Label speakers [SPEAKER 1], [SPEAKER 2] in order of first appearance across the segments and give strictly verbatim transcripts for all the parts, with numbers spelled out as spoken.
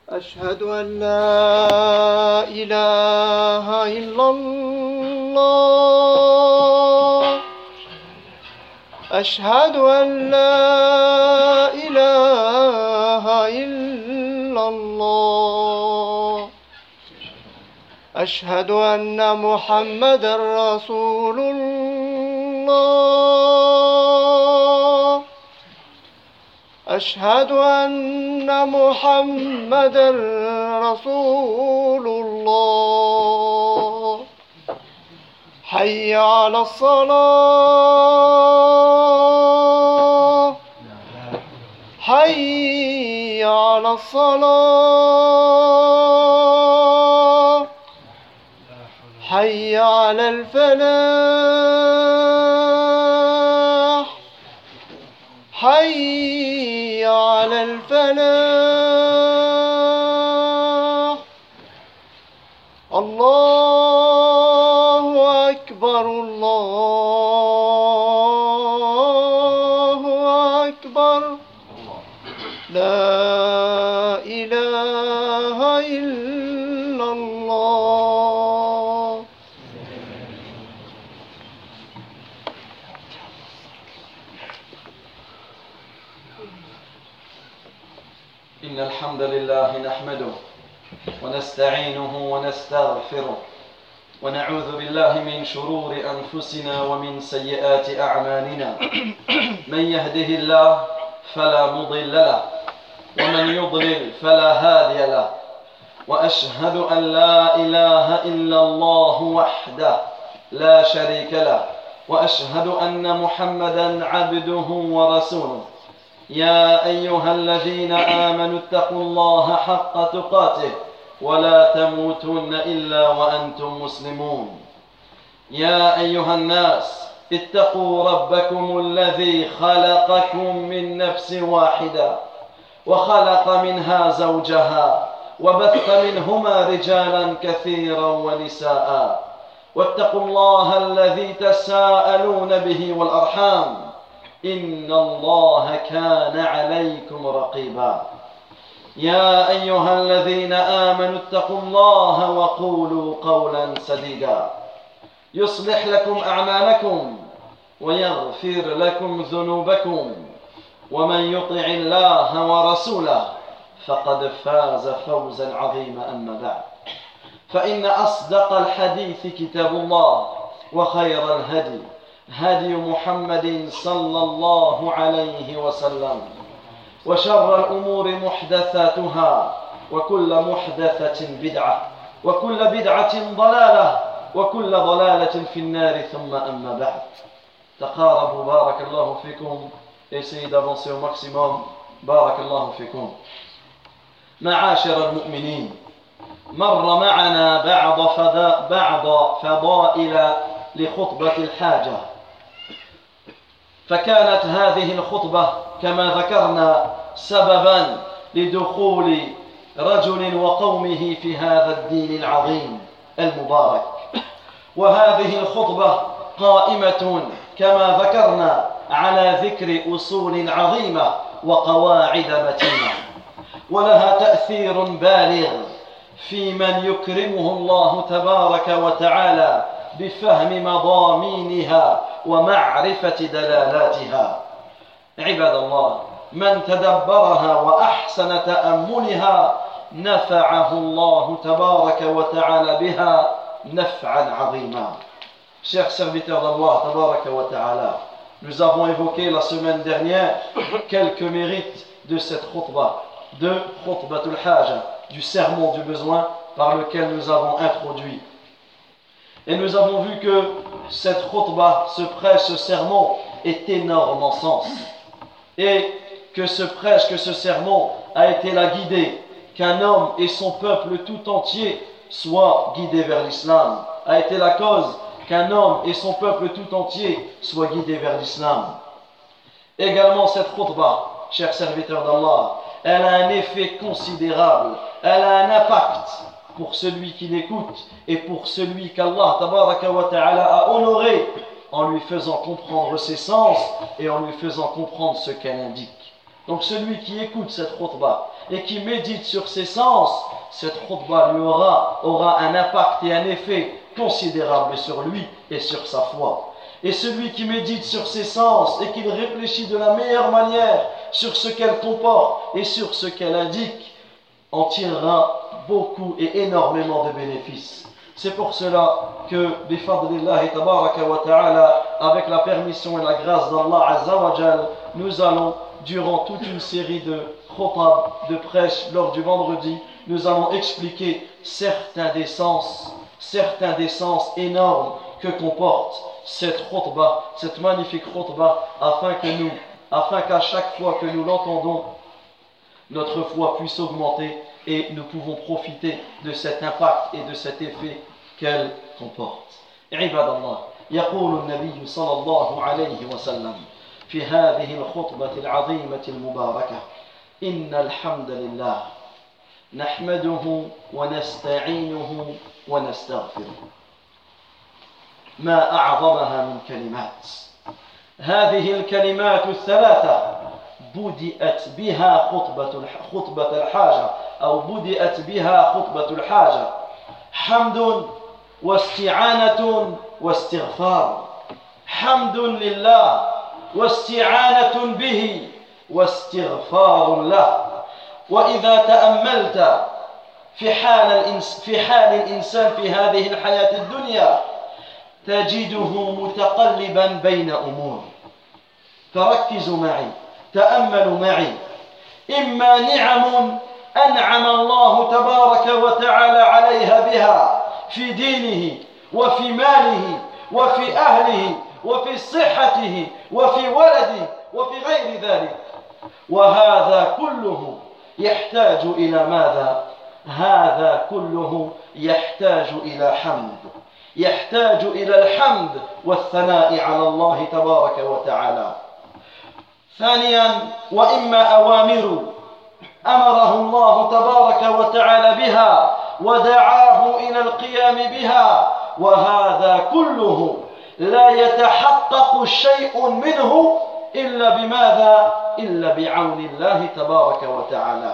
[SPEAKER 1] أشهد أن لا إله إلا الله أشهد أن لا إله إلا الله أشهد أن محمدا رسول الله أشهد أن محمدا رسول الله حي على الصلاة حي على الصلاة حي على الفلاح حي على الفلاح الله أكبر الله أكبر لا إله إلا الله.
[SPEAKER 2] إن الحمد لله نحمده ونستعينه ونستغفره ونعوذ بالله من شرور أنفسنا ومن سيئات أعمالنا من يهده الله فلا مضل له ومن يضلل فلا هادي له وأشهد أن لا إله إلا الله وحده لا شريك له وأشهد أن محمدا عبده ورسوله. يا أيها الذين آمنوا اتقوا الله حق تقاته ولا تموتن إلا وأنتم مسلمون. يا أيها الناس اتقوا ربكم الذي خلقكم من نفس واحدة وخلق منها زوجها وبث منهما رجالا كثيرا ونساء واتقوا الله الذي تساءلون به والأرحام إن الله كان عليكم رقيبا. يا أيها الذين آمنوا اتقوا الله وقولوا قولا سديدا يصلح لكم أعمالكم ويغفر لكم ذنوبكم ومن يطع الله ورسوله فقد فاز فوزا عظيما. أما بعد فإن أصدق الحديث كتاب الله وخير الهدي هدي محمد صلى الله عليه وسلم وشر الأمور محدثاتها وكل محدثة بدعة وكل بدعة ضلالة وكل ضلالة في النار ثم أما بعد. تقاربوا بارك الله فيكم. Essayez d'avancer au maximum. بارك الله فيكم. معاشر المؤمنين، مر معنا بعض فضا بعض فضائل لخطبة الحاجة، فكانت هذه الخطبة كما ذكرنا سببا لدخول رجل وقومه في هذا الدين العظيم المبارك. وهذه الخطبة قائمة كما ذكرنا على ذكر أصول عظيمة وقواعد متينة، ولها تأثير بالغ في من يكرمه الله تبارك وتعالى بفهم مضامينها ومعرفة دلالاتها. عباد الله، من تدبرها وأحسن تأملها نفعه الله تبارك وتعالى بها نفعا عظيما. Chers serviteurs d'Allah tabaraka wa ta'ala, nous avons évoqué la semaine dernière quelques mérites de cette khutbah, de khutbatul haja, du sermon du besoin par lequel nous avons introduit. Et nous avons vu que cette khutbah, ce prêche, ce sermon est énorme en sens. Et que ce prêche, que ce sermon a été la guidée, qu'un homme et son peuple tout entier soient guidés vers l'islam, a été la cause qu'un homme et son peuple tout entier soient guidés vers l'islam. Également cette khutbah, chers serviteurs d'Allah, elle a un effet considérable, elle a un impact pour celui qui l'écoute et pour celui qu'Allah tabaraka wa ta'ala a honoré en lui faisant comprendre ses sens et en lui faisant comprendre ce qu'elle indique. Donc celui qui écoute cette khutbah et qui médite sur ses sens, cette khutbah lui aura, aura un impact et un effet considérable sur lui et sur sa foi. Et celui qui médite sur ses sens et qui réfléchit de la meilleure manière sur ce qu'elle comporte et sur ce qu'elle indique, en tirera beaucoup et énormément de bénéfices. C'est pour cela que, bifadlillahi tabaraka wa ta'ala, avec la permission et la grâce d'Allah Azza wa Jal, nous allons, durant toute une série de khutab, de prêches lors du vendredi, nous allons expliquer certains des sens, certains des sens énormes que comporte cette khutbah, cette magnifique khutbah, afin que nous, afin qu'à chaque fois que nous l'entendons, notre foi puisse augmenter et nous pouvons profiter de cet impact et de cet effet qu'elle comporte. Ibadallah, يقول النبي صلى الله عليه وسلم في هذه الخطبة العظيمة المباركة: إن الحمد لله نحمده ونستعينه ونستغفره. ما أعظمها من كلمات. هذه الكلمات الثلاثة بدأت بها خطبة خطبة الحاجة أو بدأت بها خطبة الحاجة: حمد واستعانة واستغفار. حمد لله واستعانة به واستغفار له. وإذا تأملت في حال الإنس في حال الإنسان في هذه الحياة الدنيا تجده متقلبا بين أمور، فركزوا معي، تأملوا معي. إما نعم أنعم الله تبارك وتعالى عليها بها في دينه وفي ماله وفي أهله وفي صحته وفي ولده وفي غير ذلك، وهذا كله يحتاج إلى ماذا؟ هذا كله يحتاج إلى حمد، يحتاج إلى الحمد والثناء على الله تبارك وتعالى. ثانيا، وإما أوامر أمره الله تبارك وتعالى بها ودعاه إلى القيام بها، وهذا كله لا يتحقق شيء منه إلا بماذا؟ إلا بعون الله تبارك وتعالى.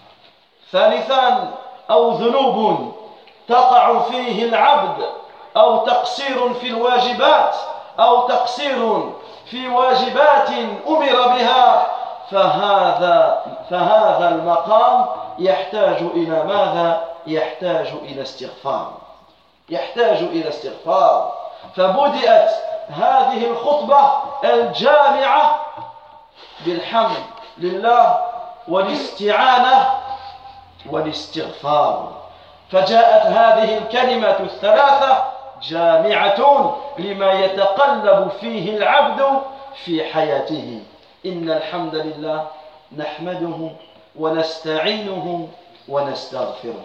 [SPEAKER 2] ثالثا، أو ذنوب تقع فيه العبد أو تقصير في الواجبات أو تقصير في واجبات أمر بها، فهذا فهذا المقام يحتاج إلى ماذا؟ يحتاج إلى استغفار، يحتاج إلى استغفار. فبدأت هذه الخطبة الجامعة بالحمد لله والاستعانة والاستغفار، فجاءت هذه الكلمة الثلاثة جامعة لما يتقلب فيه العبد في حياته. إن الحمد لله نحمده ونستعينه ونستغفره.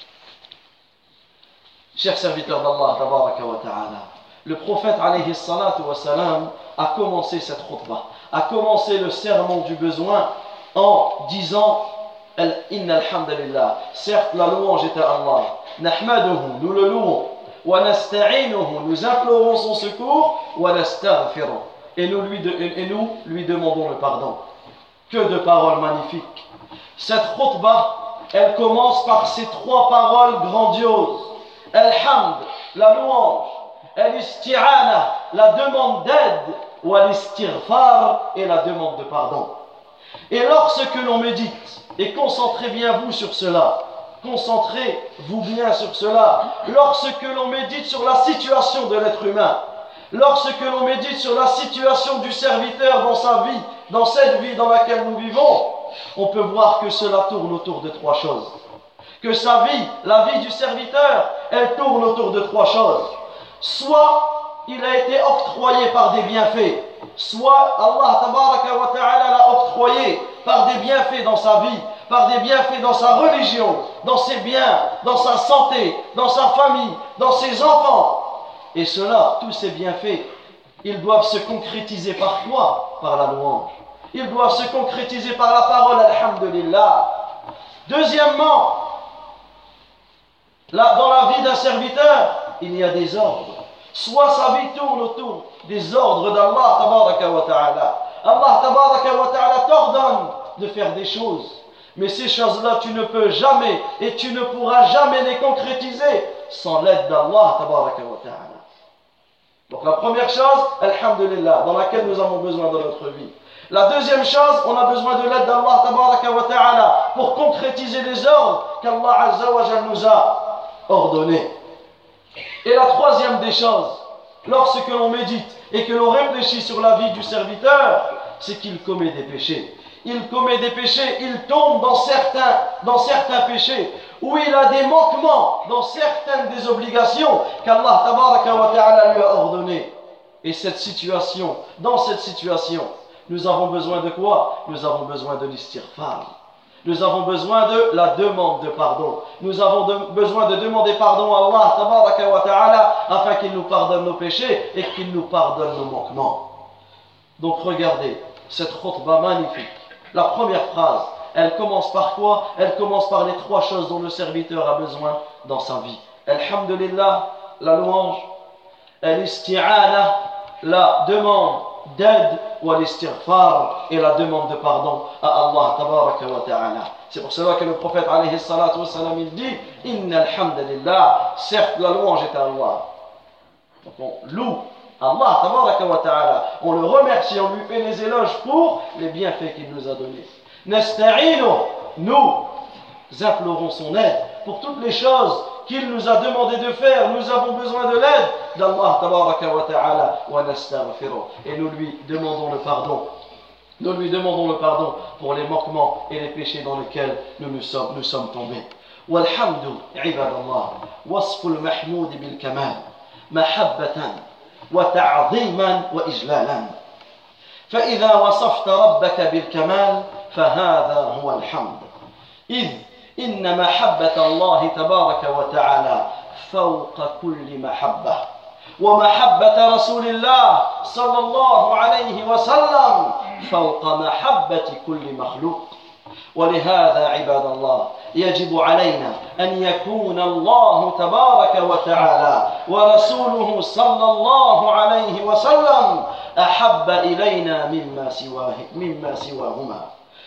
[SPEAKER 2] Chers serviteurs d'Allah tabaraka wa ta'ala, le prophète alayhi salatu wa salam a commencé cette khutbah, a commencé le sermon du besoin en disant Inna alhamdulillah, certes la louange est à Allah, nahmaduhu, nous le louons, wa nasta'inuhu, nous implorons son secours, wa nastaghfiruh, et nous lui, de, et nous lui demandons le pardon. Que de paroles magnifiques. Cette khutbah, elle commence par ces trois paroles grandioses: Al-Hamd, la louange, Al-Isti'ana, la demande d'aide, ou Al-Istighfar, et la demande de pardon. Et lorsque l'on médite, et concentrez bien vous sur cela, concentrez-vous bien sur cela, lorsque l'on médite sur la situation de l'être humain, lorsque l'on médite sur la situation du serviteur dans sa vie, dans cette vie dans laquelle nous vivons, on peut voir que cela tourne autour de trois choses. Que sa vie, la vie du serviteur, elle tourne autour de trois choses. Soit il a été octroyé par des bienfaits, soit Allah tabaraka wa ta'ala l'a octroyé par des bienfaits dans sa vie, par des bienfaits dans sa religion, dans ses biens, dans sa santé, dans sa famille, dans ses enfants. Et cela, tous ces bienfaits, ils doivent se concrétiser par quoi? Par la louange. Ils doivent se concrétiser par la parole alhamdulillah. Deuxièmement, là, dans la vie d'un serviteur, il y a des ordres. Soit sa vie tourne autour des ordres d'Allah tabaraka wa ta'ala. Allah tabaraka wa ta'ala t'ordonne de faire des choses. Mais ces choses-là, tu ne peux jamais et tu ne pourras jamais les concrétiser sans l'aide d'Allah tabaraka wa ta'ala. Donc la première chose, alhamdulillah, dans laquelle nous avons besoin dans notre vie. La deuxième chose, on a besoin de l'aide d'Allah tabaraka wa ta'ala pour concrétiser les ordres qu'Allah azza wa jal nous a ordonnés. Et la troisième des choses, lorsque l'on médite et que l'on réfléchit sur la vie du serviteur, c'est qu'il commet des péchés. Il commet des péchés, il tombe dans certains, dans certains péchés, où il a des manquements dans certaines des obligations qu'Allah tabaraka wa ta'ala lui a ordonnées. Et cette situation, dans cette situation, nous avons besoin de quoi? Nous avons besoin de l'istighfar. Nous avons besoin de la demande de pardon. Nous avons de, besoin de demander pardon à Allah tabaraka wa ta'ala afin qu'il nous pardonne nos péchés et qu'il nous pardonne nos manquements. Donc regardez cette khutbah magnifique. La première phrase, elle commence par quoi? Elle commence par les trois choses dont le serviteur a besoin dans sa vie. Alhamdulillah, la louange, al-isti'ana, la demande d'aide, ou al-istighfar, et la demande de pardon à Allah tabaraka wa ta'ala. C'est pour cela que le prophète alayhi salatu wa salam, il dit inna alhamdulillah, certes la louange est à Allah. Donc on loue Allah tabaraka wa ta'ala, on le remercie, on lui fait les éloges pour les bienfaits qu'il nous a donnés. Nasta'inu, nous implorons son aide pour toutes les choses qu'il nous a demandé de faire. Nous avons besoin de l'aide d'Allah tabaraka wa ta'ala wa nastaghfiruh, et nous lui demandons le pardon. Nous lui demandons le pardon pour les manquements et les péchés dans lesquels nous nous sommes, nous sommes tombés. Walhamdu ibadallah wasful mahmoud bil kamal mahabbatan وتعظيما وإجلالا فإذا وصفت ربك بالكمال فهذا هو الحمد إذ إن محبة الله تبارك وتعالى فوق كل محبة ومحبة رسول الله صلى الله عليه وسلم فوق محبة كل مخلوق ولهذا عباد الله يجب علينا أن يكون الله تبارك وتعالى ورسوله صلى الله عليه وسلم أحب إلينا مما سواه مما سواهما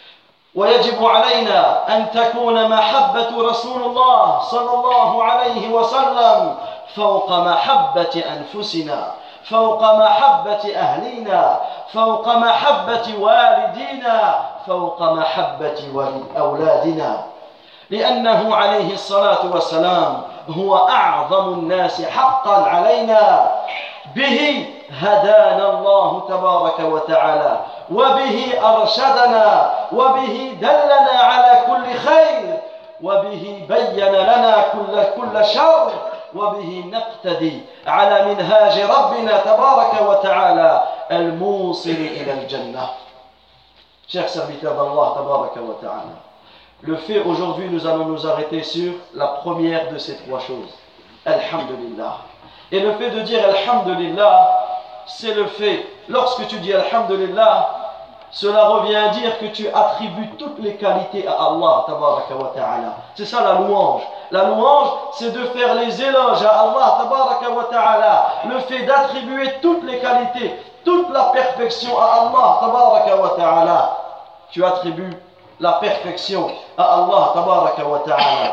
[SPEAKER 2] ويجب علينا أن تكون محبة رسول الله صلى الله عليه وسلم فوق محبة أنفسنا فوق محبة أهلنا فوق محبة والدينا فوق محبة أولادنا لأنه عليه الصلاة والسلام هو أعظم الناس حقا علينا به هدانا الله تبارك وتعالى وبه أرشدنا وبه دلنا على كل خير وبه بين لنا كل, كل شر وبه نقتدي على منهاج ربنا تبارك وتعالى الموصل إلى الجنة. Chers serviteurs d'Allah tabaraka wa ta'ala, le fait aujourd'hui, nous allons nous arrêter sur la première de ces trois choses, Alhamdulillah. Et le fait de dire Alhamdulillah, c'est le fait, lorsque tu dis Alhamdulillah, cela revient à dire que tu attribues toutes les qualités à Allah tabaraka wa ta'ala. C'est ça la louange. La louange, c'est de faire les éloges à Allah tabaraka wa ta'ala. Le fait d'attribuer toutes les qualités, toute la perfection à Allah tabaraka wa ta'ala. Tu attribues la perfection à Allah tabaraka wa ta'ala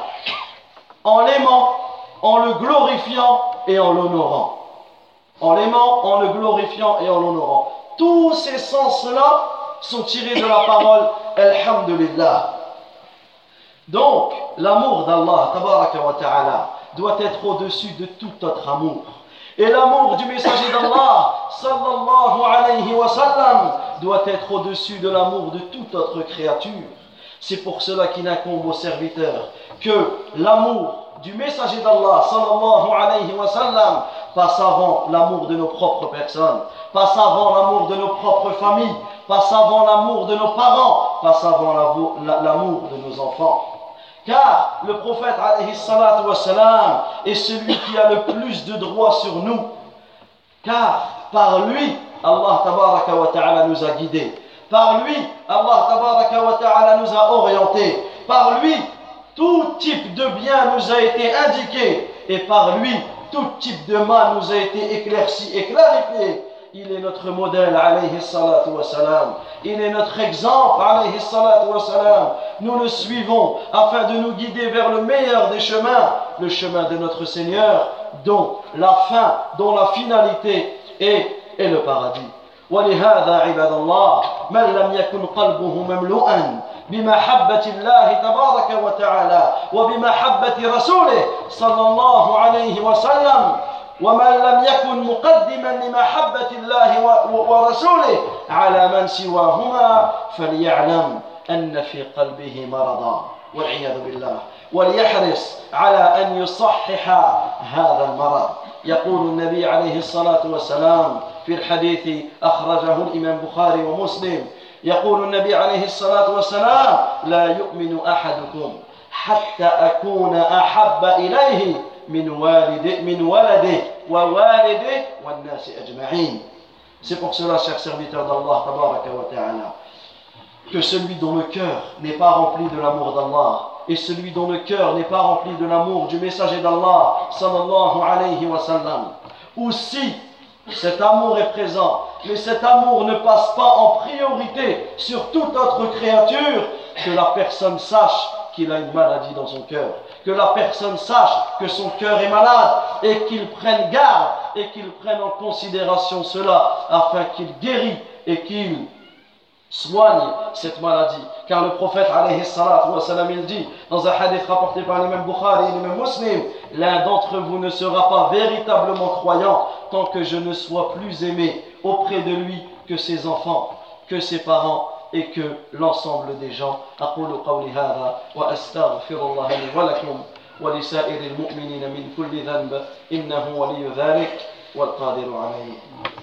[SPEAKER 2] en l'aimant, en le glorifiant et en l'honorant. En l'aimant, en le glorifiant et en l'honorant. Tous ces sens-là sont tirés de la parole Alhamdulillah. Donc, l'amour d'Allah tabaraka wa ta'ala doit être au-dessus de tout autre amour. Et l'amour du messager d'Allah sallallahu alayhi wa sallam doit être au-dessus de l'amour de toute autre créature. C'est pour cela qu'il incombe aux serviteurs que l'amour du messager d'Allah sallallahu alayhi wa sallam passe avant l'amour de nos propres personnes, passe avant l'amour de nos propres familles, passe avant l'amour de nos parents, passe avant l'amour de nos enfants. Car le prophète alayhi salatu wa salam est celui qui a le plus de droits sur nous. Car par lui, Allah tabaraka wa ta'ala nous a guidés. Par lui, Allah tabaraka wa ta'ala nous a orientés. Par lui, tout type de bien nous a été indiqué. Et par lui, tout type de mal nous a été éclairci et clarifié. il est notre modèle, alayhi salatu wa salam. Il est notre exemple, alayhi salatu wa salam. Nous le suivons afin de nous guider vers le meilleur des chemins, le chemin de notre Seigneur, dont la fin, dont la finalité est, est le paradis. ولهذا عباد الله من لم يكن قلبه مملوءا بمحبة الله تبارك وتعالى وبمحبة رسوله صلى الله عليه وسلم ومن لم يكن مقدما لمحبة الله ورسوله على من سواهما فليعلم أن في قلبه مرضا والعياذ بالله وليحرص على أن يصحح هذا المرض. يقول النبي عليه الصلاة والسلام في الحديث أخرجه الإمام بخاري ومسلم، يقول النبي عليه الصلاة والسلام: لا يؤمن أحدكم حتى أكون أحب إليه من والده من ولده ووالده والناس أجمعين. C'est pour cela, chers serviteurs d'Allah tabaraka wa ta'ala, que celui dont le cœur n'est pas rempli de l'amour d'Allah et celui dont le cœur n'est pas rempli de l'amour du messager d'Allah sallallahu alayhi wa sallam, ou si cet amour est présent, mais cet amour ne passe pas en priorité sur toute autre créature, que la personne sache qu'il a une maladie dans son cœur, que la personne sache que son cœur est malade et qu'il prenne garde et qu'il prenne en considération cela afin qu'il guérisse et qu'il soigne cette maladie. Car le prophète alayhi salatu wa salam, il dit dans un hadith rapporté par l'imam Bukhari et l'imam Muslim: l'un d'entre vous ne sera pas véritablement croyant tant que je ne sois plus aimé auprès de lui que ses enfants, que ses parents et que l'ensemble des gens. أقول قولي هذا وأستغفر الله لي ولكم ولسائر المؤمنين من كل ذنب إنه ولي ذلك والقادر عليه.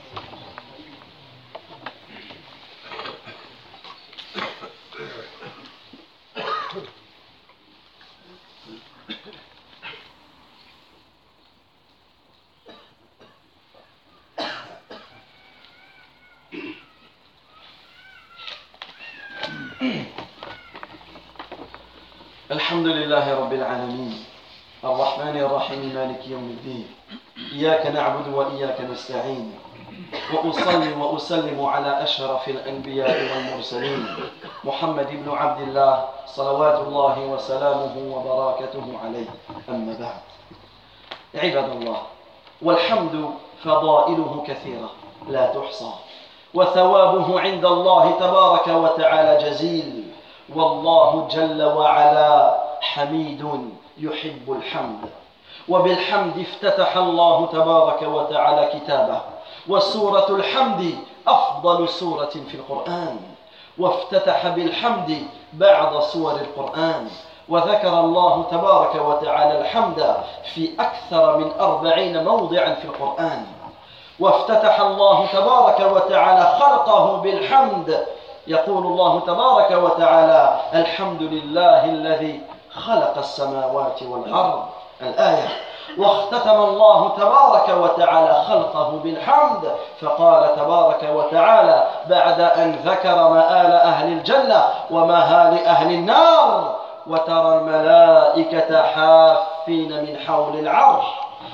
[SPEAKER 2] الحمد لله رب العالمين الرحمن الرحيم مالك يوم الدين إياك نعبد وإياك نستعين وأصلي وأسلم على أشرف الأنبياء والمرسلين محمد بن عبد الله صلوات الله وسلامه وبركاته عليه. أما بعد، عباد الله، والحمد فضائله كثيرة لا تحصى وثوابه عند الله تبارك وتعالى جزيل، والله جل وعلا حميد يحب الحمد. وبالحمد افتتح الله تبارك وتعالى كتابه، وسورة الحمد أفضل سورة في القرآن، وافتتح بالحمد بعض سور القرآن، وذكر الله تبارك وتعالى الحمد في أكثر من أربعين موضعا في القرآن. وافتتح الله تبارك وتعالى خلقه بالحمد، يقول الله تبارك وتعالى: الحمد لله الذي خلق السماوات والأرض، الآية. واختتم الله تبارك وتعالى خلقه بالحمد، فقال تبارك وتعالى بعد أن ذكر مآل أهل الجنة ومآل أهل النار: وترى الملائكة حافين من حول العرش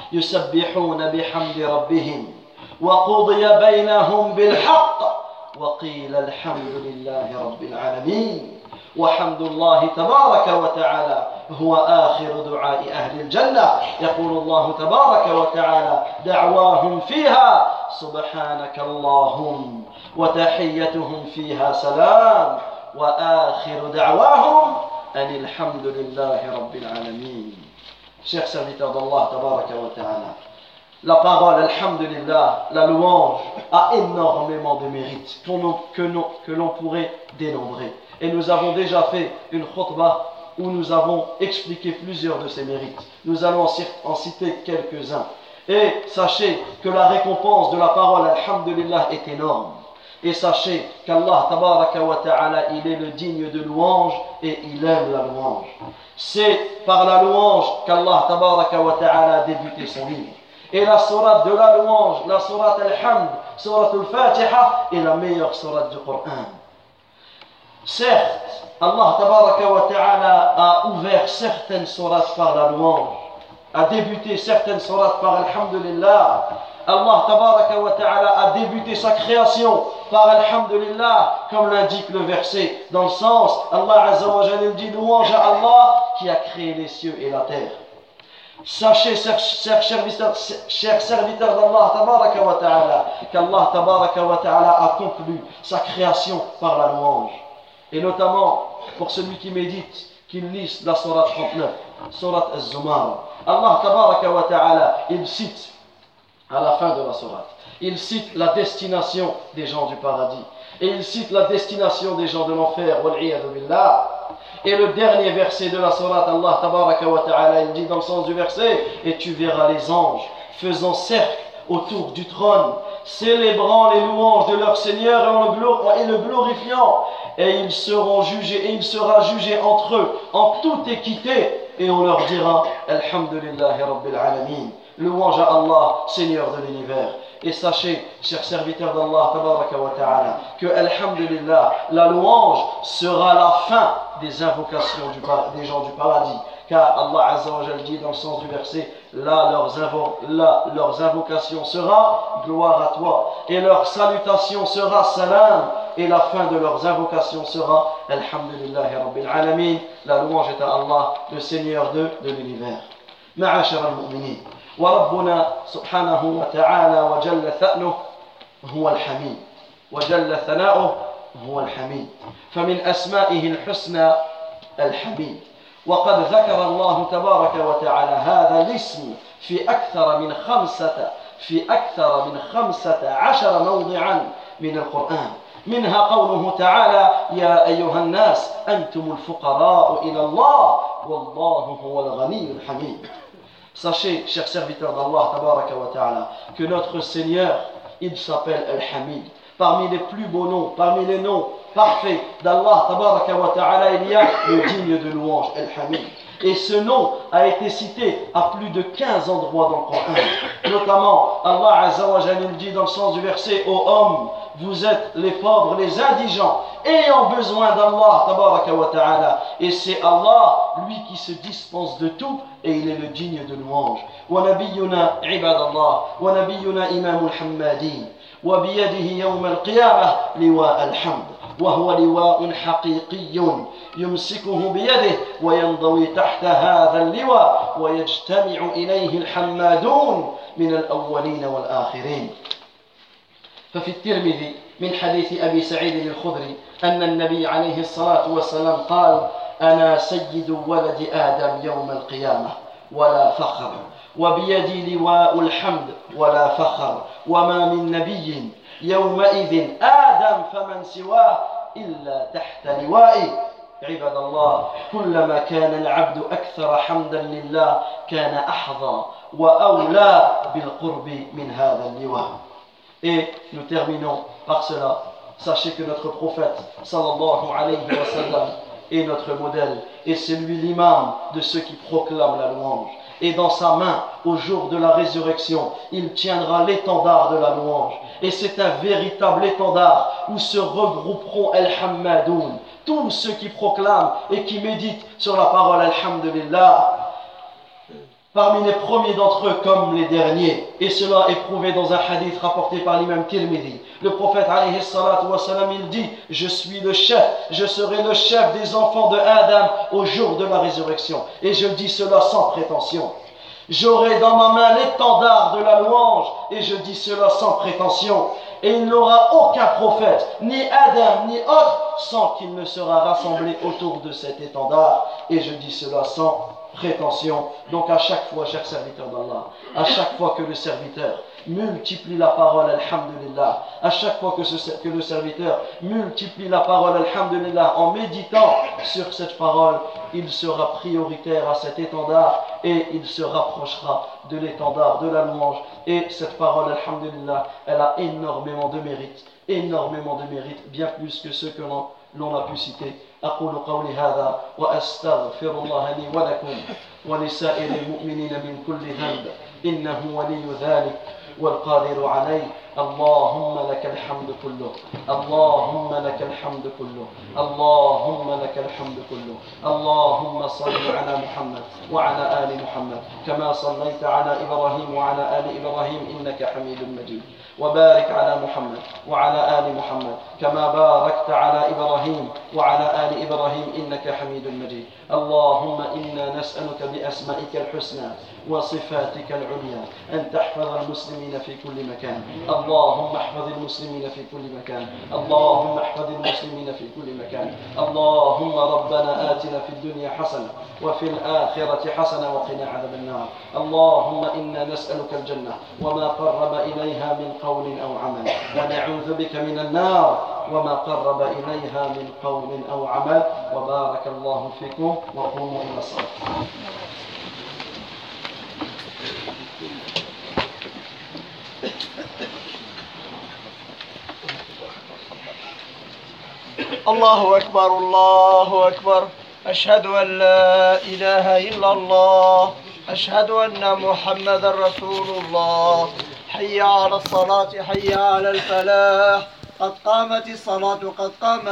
[SPEAKER 2] يسبحون بحمد ربهم وقضي بينهم بالحق وقيل الحمد لله رب العالمين. وحمد الله تبارك وتعالى هو آخر دعاء أهل الجنة، يقول الله تبارك وتعالى: دعواهم فيها سبحانك اللهم وتحيتهم فيها سلام وآخر دعواهم أن الحمد لله رب العالمين. Chers serviteurs d'Allah tabaraka wa ta'ala, la parole alhamdulillah, la louange, a énormément de mérites que, que l'on pourrait dénombrer. Et nous avons déjà fait une khutbah où nous avons expliqué plusieurs de ces mérites. Nous allons en citer quelques-uns. Et sachez que la récompense de la parole alhamdulillah est énorme. Et sachez qu'Allah tabaraka wa ta'ala, il est le digne de louange et il aime la louange. C'est par la louange qu'Allah tabaraka wa ta'ala a débuté son livre. Et la sourate de la louange, la sourate al-Hamd, sourate al-Fatiha, est la meilleure sourate du Coran. Certes, Allah tabaraka wa ta'ala a ouvert certaines sourates par la louange, a débuté certaines sourates par alhamdulillah, Allah tabaraka wa ta'ala a débuté sa création par Alhamdulillah, comme l'indique le verset, dans le sens, Allah Azza wa Jalla dit louange à Allah qui a créé les cieux et la terre. Sachez, chers serviteurs, chers serviteurs d'Allah tabaraka wa ta'ala, qu'Allah tabaraka wa ta'ala a conclu sa création par la louange. Et notamment, pour celui qui médite, qu'il lise la Sourate trente-neuf, Sourate Az-Zumar. Allah tabaraka wa ta'ala, il cite, à la fin de la Sourate, il cite la destination des gens du paradis. Et il cite la destination des gens de l'enfer, wal-'iyadhu billah. Et le dernier verset de la Sourate, Allah tabaraka wa ta'ala, il dit dans le sens du verset, et tu verras les anges faisant cercle autour du trône, célébrant les louanges de leur Seigneur et le glorifiant, et ils seront jugés, et il sera jugé entre eux en toute équité, et on leur dira Alhamdulillahi Rabbil Alamin, louange à Allah, Seigneur de l'univers. Et sachez, chers serviteurs d'Allah tabaraka wa ta'ala, que Alhamdulillah, la louange sera la fin des invocations du, des gens du paradis. Car Allah Azza wa Jalla dit dans le sens du verset, là leurs, invo là, leurs invocations sera gloire à toi, et leur salutation sera salam, et la fin de leurs invocations sera Alhamdulillahi Rabbil Alamin, la louange est à Allah, le Seigneur de, de l'univers. Ma'ashara al-mu'minin, wa Rabbuna subhanahu wa ta'ala wa jalla tha'nuh huwa al-hamid, wa jalla thana'uh huwa al-hamid, famin asma'ihi al-husna al-hamid. وقد ذكر الله تبارك وتعالى هذا الاسم في أكثر من خمسة في أكثر من خمسة عشر موضعا من القرآن منها قوله تعالى يا أيها الناس أنتم الفقراء إلى الله والله هو الغني الحميد. Sachez, chers serviteurs d'Allah tabaraka wa ta'ala, que notre Seigneur, il s'appelle Al-Hamid. Parmi les plus beaux noms, parmi les noms parfait d'Allah tabaraka wa ta'ala, il y a le digne de louange, Al-Hamid. Et ce nom a été cité à plus de quinze endroits dans le Coran. Notamment, Allah Azza wa Jalla dit dans le sens du verset, ô hommes, vous êtes les pauvres, les indigents, ayant besoin d'Allah tabaraka wa ta'ala. Et c'est Allah, lui qui se dispense de tout, et il est le digne de louange. Wa nabiyyuna ibadallah, wa nabiyyuna imamul hammadin. وبيده يوم القيامة لواء الحمد وهو لواء حقيقي يمسكه بيده وينضوي تحت هذا اللواء ويجتمع إليه الحمادون من الأولين والآخرين. ففي الترمذي من حديث أبي سعيد الخدري أن النبي عليه الصلاة والسلام قال أنا سيد ولد آدم يوم القيامة ولا فخر وبيدي لواء الحمد ولا فخر وما من نبي يومئذ آدم فمن سواه إلا تحت لوائي. عباد الله كلما كان العبد أكثر حمدا لله كان أحظى وأولى بالقرب من هذا اللواء. Et nous terminons par cela. Sachez que notre prophète sallallahu alayhi wa sallam est notre modèle et c'est lui l'imam de ceux qui proclament la louange. Et dans sa main, au jour de la résurrection, il tiendra l'étendard de la louange. Et c'est un véritable étendard où se regrouperont Al-Hammadoun, tous ceux qui proclament et qui méditent sur la parole Alhamdulillah. Parmi les premiers d'entre eux comme les derniers. Et cela est prouvé dans un hadith rapporté par l'imam Tirmidhi. Le prophète alayhi salatu wa salam, il dit, je suis le chef, je serai le chef des enfants de Adam au jour de la résurrection. Et je dis cela sans prétention. J'aurai dans ma main l'étendard de la louange, et je dis cela sans prétention. Et il n'aura aucun prophète, ni Adam, ni autre, sans qu'il ne sera rassemblé autour de cet étendard. Et je dis cela sans prétention. Donc à chaque fois, chers serviteurs d'Allah, à chaque fois que le serviteur multiplie la parole Alhamdulillah, à chaque fois que, ce, que le serviteur multiplie la parole Alhamdulillah en méditant sur cette parole, il sera prioritaire à cet étendard et il se rapprochera de l'étendard de la louange. Et cette parole Alhamdulillah, elle a énormément de mérite, énormément de mérite, bien plus que ceux que l'on l'on a pu citer. أقول قولي هذا وأستغفر الله لي ولكم ولسائر المؤمنين من كل ذنب إنه ولي ذلك والقادر عليه. اللهم لك الحمد كله، اللهم لك الحمد كله، اللهم لك الحمد كله. اللهم صل على محمد وعلى آل محمد كما صليت على إبراهيم وعلى آل إبراهيم إنك حميد مجيد. وبارك على محمد وعلى آل محمد كما باركت على إبراهيم وعلى آل إبراهيم إنك حميد مجيد. اللهم إنا نسألك بأسمائك الحسنى وصفاتك العليا أن تحفظ المسلمين في كل مكان. اللهم احفظ المسلمين في كل مكان، اللهم احفظ المسلمين في كل مكان. اللهم ربنا آتنا في الدنيا حسنة وفي الآخرة حسنة وقنا عذاب النار. اللهم إنا نسألك الجنة وما قرب إليها من قول أو عمل، ونعوذ بك من النار وما قرب إليها من قول أو عمل. وبارك الله فيكم وقوموا إلى الصلاة.
[SPEAKER 1] الله أكبر الله أكبر. أشهد أن لا إله إلا الله، أشهد أن محمدا رسول الله. حي على الصلاة، حي على الفلاح، قد قامت الصلاة، قد قامت